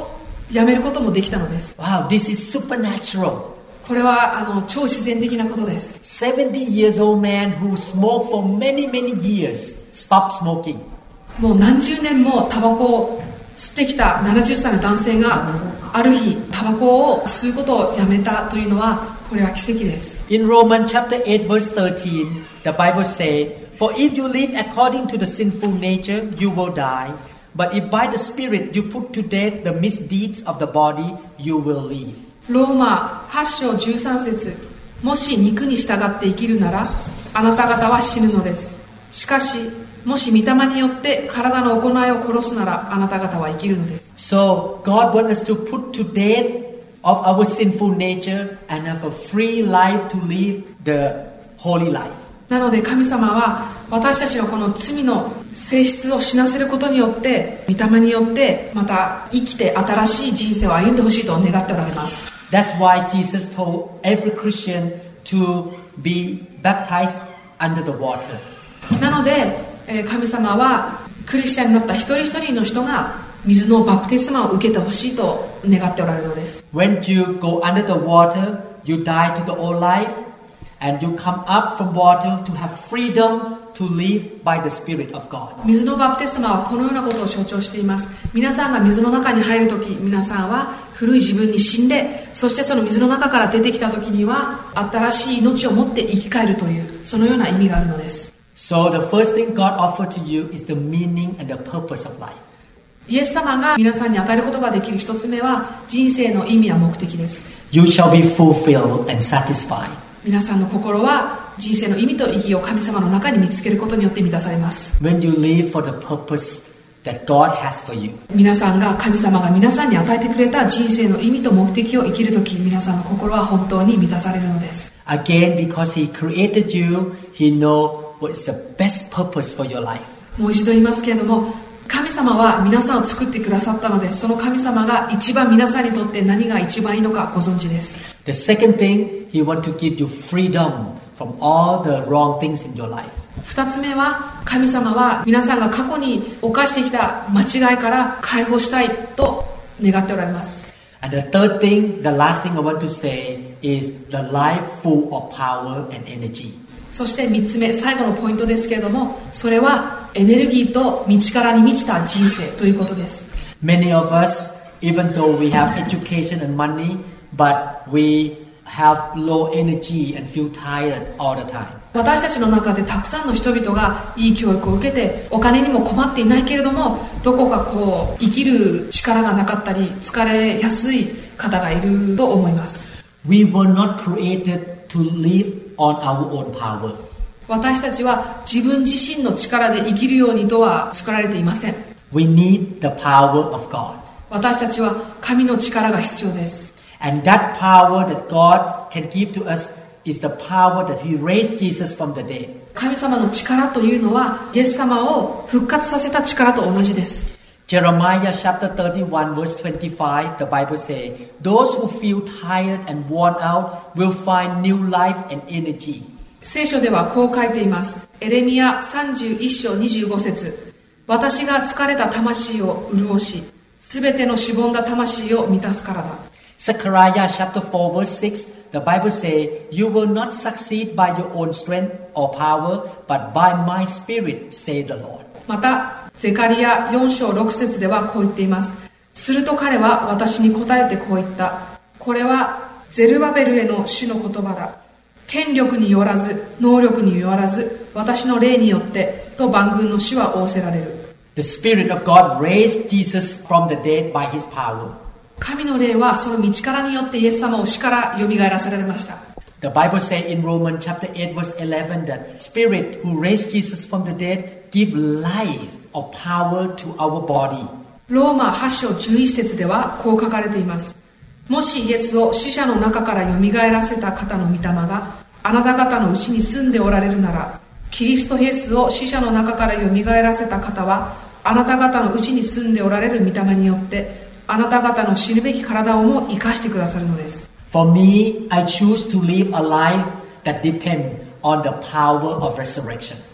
やめることもできたのです。 Wow, this is supernatural. これはあの超自然的なことです。 seventy years old man who smoked for many, many years stopped smoking. もう何十年もタバコを吸ってきたななじゅっさいの男性がある日タバコを吸うことをやめたというのは、これは奇跡です。 In Romans chapter eight verse thirteen, the Bible says, For if you live according to the sinful nature, you will die. But if by the Spirit you put to death the misdeeds of the body, you will live. ローマはち章じゅうさん節、もし肉に従って生きるならあなた方は死ぬのです。しかしもし御霊によって体の行いを殺すならあなた方は生きるのです。 So God wants us to put to death of our sinful nature and have a free life to live the holy life. なので神様は私たちのこの罪の性質を死なせることによって、御霊によってまた生きて新しい人生を歩んでほしいと願っておられます。 That's why Jesus told every Christian to be baptized under the water. なので神様はクリスチャンになった一人一人の人が水のバプテスマを受けてほしいと願っておられるのです。 When you go under the water, you die to the old life and you come up from water to have freedom to live by the Spirit of God. 水のバプテスマはこのようなことを象徴しています。皆さんが水の中に入るとき、皆さんは古い自分に死んで、そしてその水の中から出てきたときには新しい命を持って生き返るという、そのような意味があるのです。 So the first thing God offered to you is the meaning and the purpose of life. イエス様が皆さんに与えることができる一つ目は人生の意味や目的です。 You shall be fulfilled and satisfied. 皆さんの心は人生の意味と意義を神様の中に見つけることによって満たされます。 When you live for the purpose that God has for you. 皆さんが神様が皆さんに与えてくれた人生の意味と目的を生きるとき、皆さんの心は本当に満たされるのです。 Again, because He created you, He knows what is the best purpose for your life. もう一度言いますけれども、神様は皆さんを作ってくださったので、その神様が一番皆さんにとって何が一番いいのかご存知です。 The second thing, He wants to give you freedom from all the wrong things in your life. 二つ目は、神様は皆さんが過去に犯してきた間違いから解放したいと願っておられます。 And the third thing, the last thing I want to say is the life full of power and energy. そして三つ目、最後のポイントですけれども、それはエネルギーと道からに満ちた人生ということです。 Many of us, even though we have education and money, but we have low energy and feel tired all the time. 私たちの中でたくさんの人々がいい教育を受けてお金にも困っていないけれども、どこかこう生きる力がなかったり疲れやすい方がいると思います。 We were not created to live on our own power. 私たちは自分自身の力で生きるようにとは作られていません。 We need the power of God. 私たちは神の力が必要です。 And that power that God can give to us is the power that He raised Jesus from the dead. 神様の力というのはイエス様を復活させた力と同じです。 Jeremiah chapter thirty-one verse twenty-five, the Bible says, Those who feel tired and worn out will find new life and energy. 聖書ではこう書いています。エレミヤさんじゅういっ章にじゅうご節、私が疲れた魂を潤し、すべてのしぼんだ魂を満たすからだ。 Zechariah chapter four verse six, the Bible says, You will not succeed by your own strength or power, but by my spirit, say the Lord. またゼカリヤよん章ろく節ではこう言っています。すると彼は私に答えてこう言った。これはゼルバベルへの主の言葉だ。権力によらず能力によらず私の霊によってと万軍の主は仰せられる。 The Spirit of God raised Jesus from the dead by His power. 神の霊はその道からによってイエス様を死からよみがえらせられました。 The Bible says in Romans chapter eight verse eleven that Spirit who raised Jesus from the dead give life or power to our body. ローマはち章じゅういち節ではこう書かれています。もしイエスを死者の中からよみがえらせた方の御霊があなた方のうちに住んでおられるなら、キリストイエスを死者の中からよみがえらせた方はあなた方のうちに住んでおられる御霊によってあなた方の死ぬべき体をも生かしてくださるのです。 For me, I choose to live a life that depends on the power of resurrection.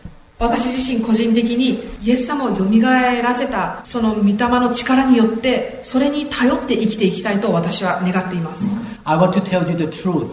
私自身個人的にイエス様をよみがえらせたその御霊の力によってそれに頼って生きていきたいと私は願っています。 I want to tell you the truth.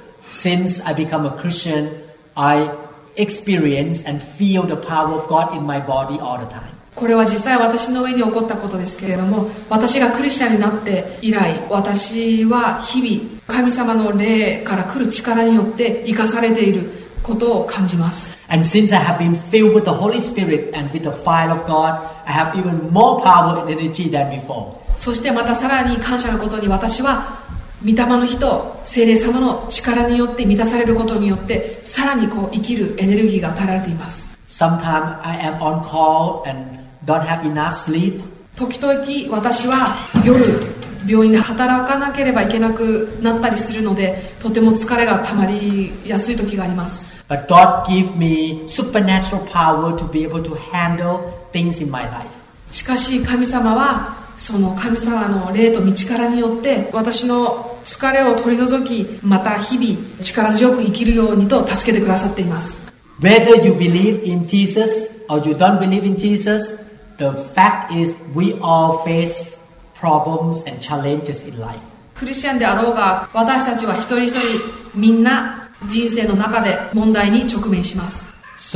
Since I become a Christian, I experience and feel the power of God in my body all the time. これは実際私の上に起こったことですけれども、私がクリスチャンになって以来、私は日々神様の霊から来る力によって生かされていることを感じます。 And since I have been filled with the Holy Spirit and with the fire of God, I have even more power and energy than before. そしてまたさらに感謝のことに、私は御霊の日と聖霊様の力によって満たされることによってさらにこう生きるエネルギーが与えられています。 Sometimes I am on call and don't have enough sleep. 時々私は夜病院で働かなければいけなくなったりするので、とても疲れがたまりやすい時があります。 But God gives me supernatural power to be able to handle things in my life. しかし神様はその神様の霊と道力によって私の疲れを取り除き、また日々力強く生きるようにと助けてくださっています。 Whether you believe in Jesus or you don't believe in Jesus, the fact is we all face problems and challenges in life. クリスチャンであろうが、私たちは一人一人みんな人生の中で問題に直面します。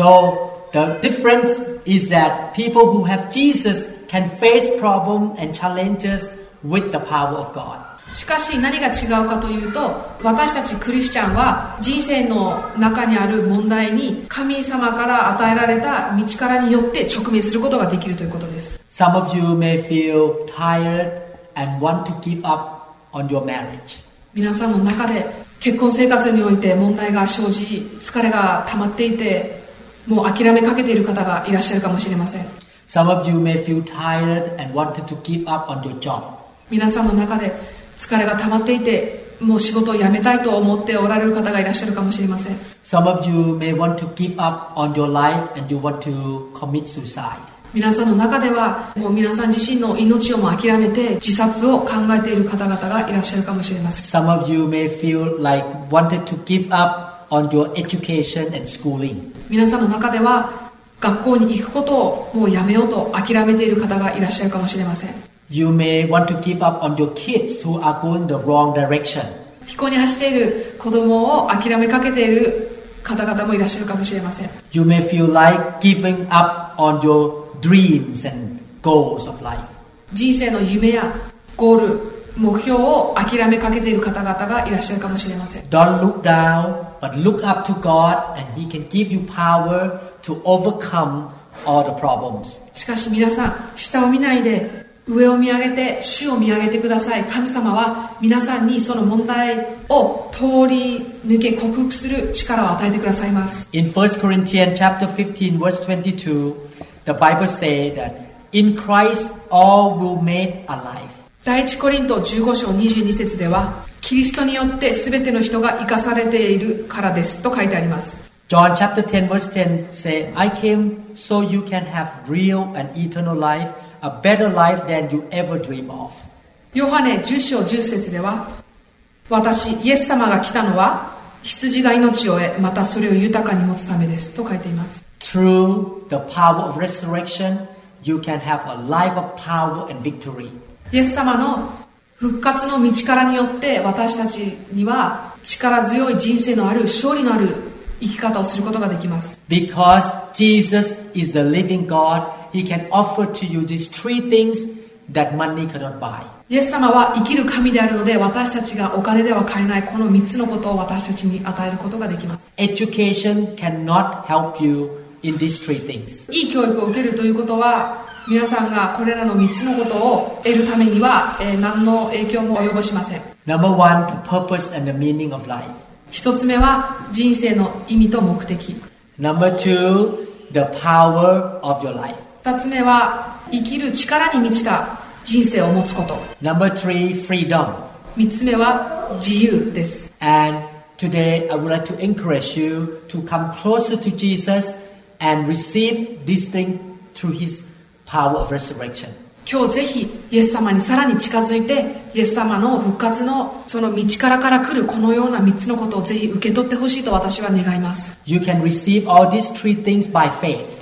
So the difference is that people who have Jesus can face problems and challenges with the power of God. しかし何が違うかというと、私たちクリスチャンは人生の中にある問題に神様から与えられた道からによって直面することができるということです。 Some of you may feel tired and want to give up on your marriage. 皆さんの中で結婚生活において問題が生じ、疲れが溜まっていて、もう諦めかけている方がいらっしゃるかもしれません。 Some of you may feel tired and wanted to give up on your job. 皆さんの中で疲れが溜まっていて、もう仕事を辞めたいと思っておられる方がいらっしゃるかもしれません。 Some of you may want to give up on your life and you want to commit suicide. 皆さんの中ではもう皆さん自身の命をも諦めて自殺を考えている方々がいらっしゃるかもしれません。 Some of you may feel like wanted to give up on your education and schooling. 皆さんの中では学校に行くことをもうやめようと諦めている方がいらっしゃるかもしれません。 You may want to give up on your kids who are going the wrong direction. 非行に走っている子供を諦めかけている方々もいらっしゃるかもしれません。 You may feel like giving up on your dreams and goals of life. 人生の夢やゴール、目標を諦めかけている方々がいらっしゃるかもしれません。 Don't look down, but look up to God and He can give you power to overcome all the problems. しかし皆さん、下を見ないで上を見上げて主を見上げてください。神様は皆さんにその問題を通り抜け克服する力を与えてくださいます。 In First Corinthians chapter fifteen verse twenty-two, the Bible says that in Christ all will made alive. 第一コリントじゅうご章にじゅうに節では、キリストによって全ての人が生かされているからですと書いてあります。 John chapter ten verse ten say, I came so you can have real and eternal life, a better life than you ever dream of. ヨハネじゅう章じゅう節では、私イエス様が来たのは羊が命を得、またそれを豊かに持つためですと書いています。 Through the power of resurrection, you can have a life of power and victory. イエス様の復活の道からによって私たちには力強い人生のある勝利のある生き方をすることができます。 Because Jesus is the living God, He can offer to you these three things that money cannot buy. イエス様は生きる神であるので、私たちがお金では買えないこのみっつのことを私たちに与えることができます。 Education cannot help you in these three things. いい教育を受けるということは、皆さんがこれらのみっつのことを得るためには、えー、何の影響も及ぼしません。 Number one, the purpose and the meaning of life. 一つ目は人生の意味と目的。 Number two, the power of your life. 二つ目は生きる力に満ちた人生を持つこと。 Number three, freedom. 三つ目は自由です。 And today I would like to encourage you to come closer to Jesus and receive this thing through His power of resurrection. 今日ぜひイエス様にさらに近づいて、イエス様の復活のその道からから来るこのようなみっつのことをぜひ受け取ってほしいと私は願います。 You can receive all these three things by faith.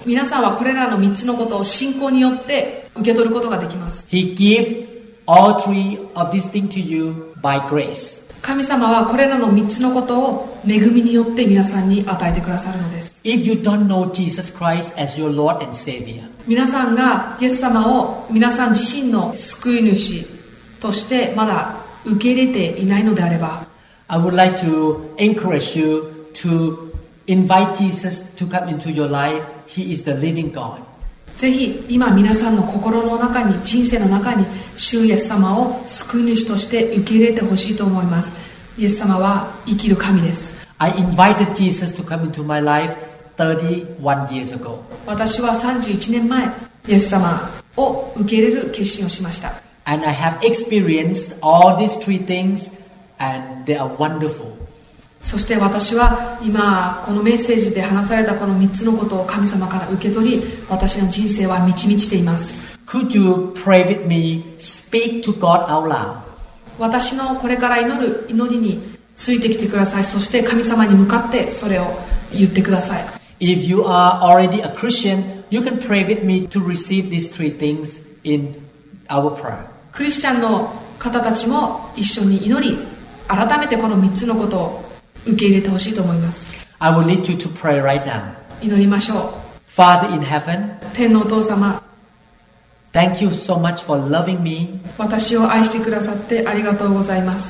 皆さんはこれらのみっつのことを信仰によって受け取ることができます。 He gives all three of these things to you by grace. 神様はこれらのみっつのことを恵みによって皆さんに与えてくださるのです。 If you don't know Jesus Christ as your Lord and Savior, 皆さんがイエス様を皆さん自身の救い主としてまだ受け入れていないのであれば、 I would like to encourage you to invite Jesus to come into your life. He is the living God. ぜひ今皆さんの心の中に、人生の中に主イエス様を救い主として受け入れてほしいと思います。イエス様は生きる神です。 I invited Jesus to come into my life thirty-one years ago. 私はさんじゅういちねんまえイエス様を受け入れる決心をしました。 And I have experienced all these three things and they are wonderful. そして私は今このメッセージで話されたこのみっつのことを神様から受け取り、私の人生は満ち満ちています。 Could you pray with me? Speak to God out loud. 私のこれから祈る祈りについてきてください。そして神様に向かってそれを言ってください。 If you are already a Christian, you can pray with me to receive these three things in our prayer. クリスチャンの方たちも一緒に祈り、改めてこのみっつのことを受け入れてほしいと思います。 I will lead you to pray right now. 祈りましょう。 Father in heaven, 天のお父様、 thank you so much for loving me 私を愛してくださってありがとうございます。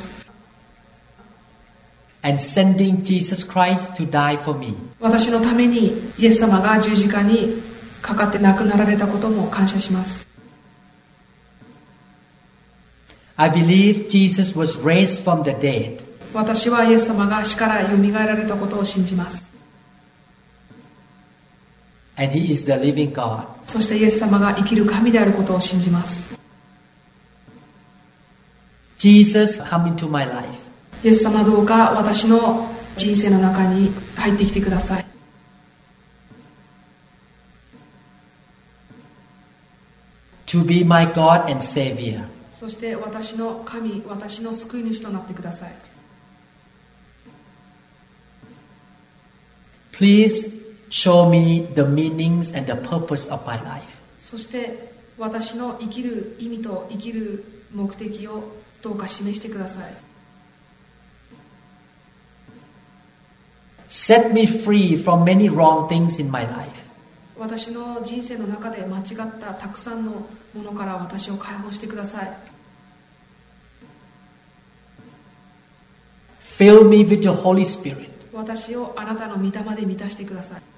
and sending Jesus Christ to die for me. 私のためにイエス様が十字架にかかって亡くなられたことも感謝します。 I believe Jesus was raised from the dead. 私はイエス様が死からよみがえられたことを信じます。 And He is the living God. そしてイエス様が生きる神であることを信じます。 Jesus, come into my life. イエス様どうか私の人生の中に入ってきてください。 To be my God and Savior. そして私の神、私の救い主となってください。 Please show me the meanings and the purpose of my life. そして私の生きる意味と生きる目的をどうか示してください。 Set me free from many wrong things in my life. 私の人生の中で間違ったたくさんのものから私を解放してください。 Fill me with your Holy Spirit. 私をあなたの御霊で満たしてください。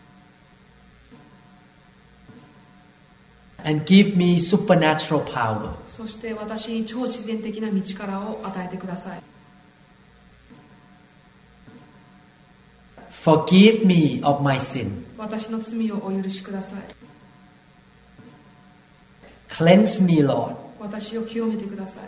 And give me supernatural power. そして私に超自然的な道からを与えてください。 Forgive me of my sin. 私の罪をお許しください。 Cleanse me, Lord. 私を清めてください。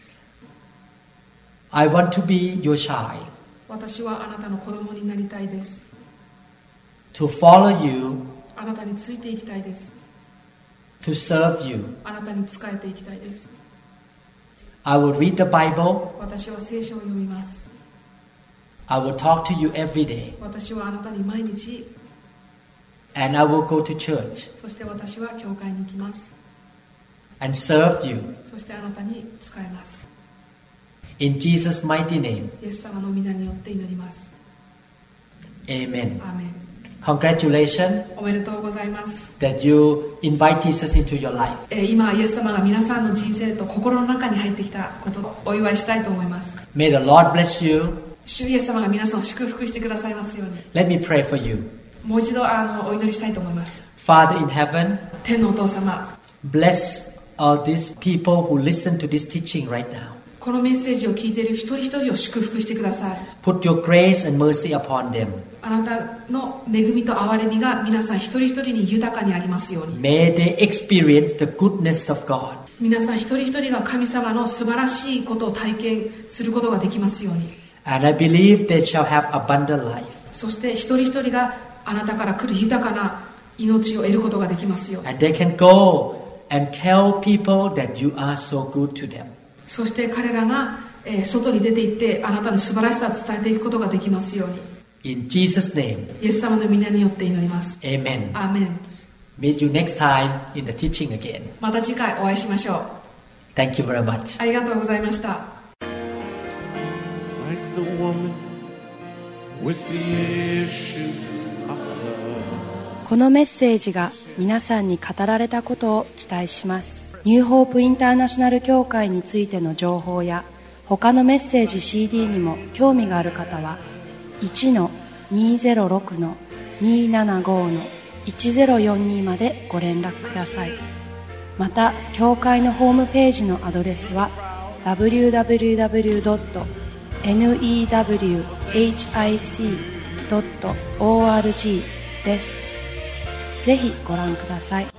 I want to be your child. 私はあなたの子供になりたいです。 To follow you. あなたについていきたいです。 To serve you. あなたに仕えていきたいです。 I will read the Bible. 私は聖書を読みます。 I will talk to you every day. 私はあなたに毎日、 And I will go to church そして私は教会に行きます。 and serve you. そしてあなたに仕えます。 In Jesus' mighty name. イエス様の皆によって祈ります。 Amen. アーメン。 Congratulations おめでとうございます。 that you invite Jesus into your life. えー今イエス様が皆さんの人生と心の中に入ってきたことをお祝いしたいと思います。 May the Lord bless you. 主イエス様が皆さんを祝福してくださいますように。 Let me pray for you. もう一度あのお祈りしたいと思います。 Father in heaven, 天のお父様、 bless all these people who listen to this teaching right now. このメッセージを聞いている一人一人を祝福してください。 Put your grace and mercy upon them. あなたの恵みと憐れみが皆さん一人一人に豊かにありますように。 May they experience the goodness of God. 皆さん一人一人が神様の素晴らしいことを体験することができますように。 And I believe they shall have abundant life. そして一人一人があなたから来る豊かな命を得ることができますように。 And they can go and tell people that you are so good to them. そして彼らが、えー外に出て行ってあなたの素晴らしさを伝えていくことができますように。 In Jesus' name, イエス様の皆によって祈ります。 amen. アーメン。 Meet you next time in the teaching again. また次回お会いしましょう。 Thank you very much. ありがとうございました。 Like the woman with the issue of blood. このメッセージが皆さんに語られたことを期待します。ニューホープインターナショナル協会についての情報や他のメッセージ シーディー にも興味がある方は いちのにゼロろくのにななごのいちゼロよんに までご連絡ください。また協会のホームページのアドレスは ダブリューダブリューダブリュードットニーダブリューエイチアイシードットオーアールジー です。ぜひご覧ください。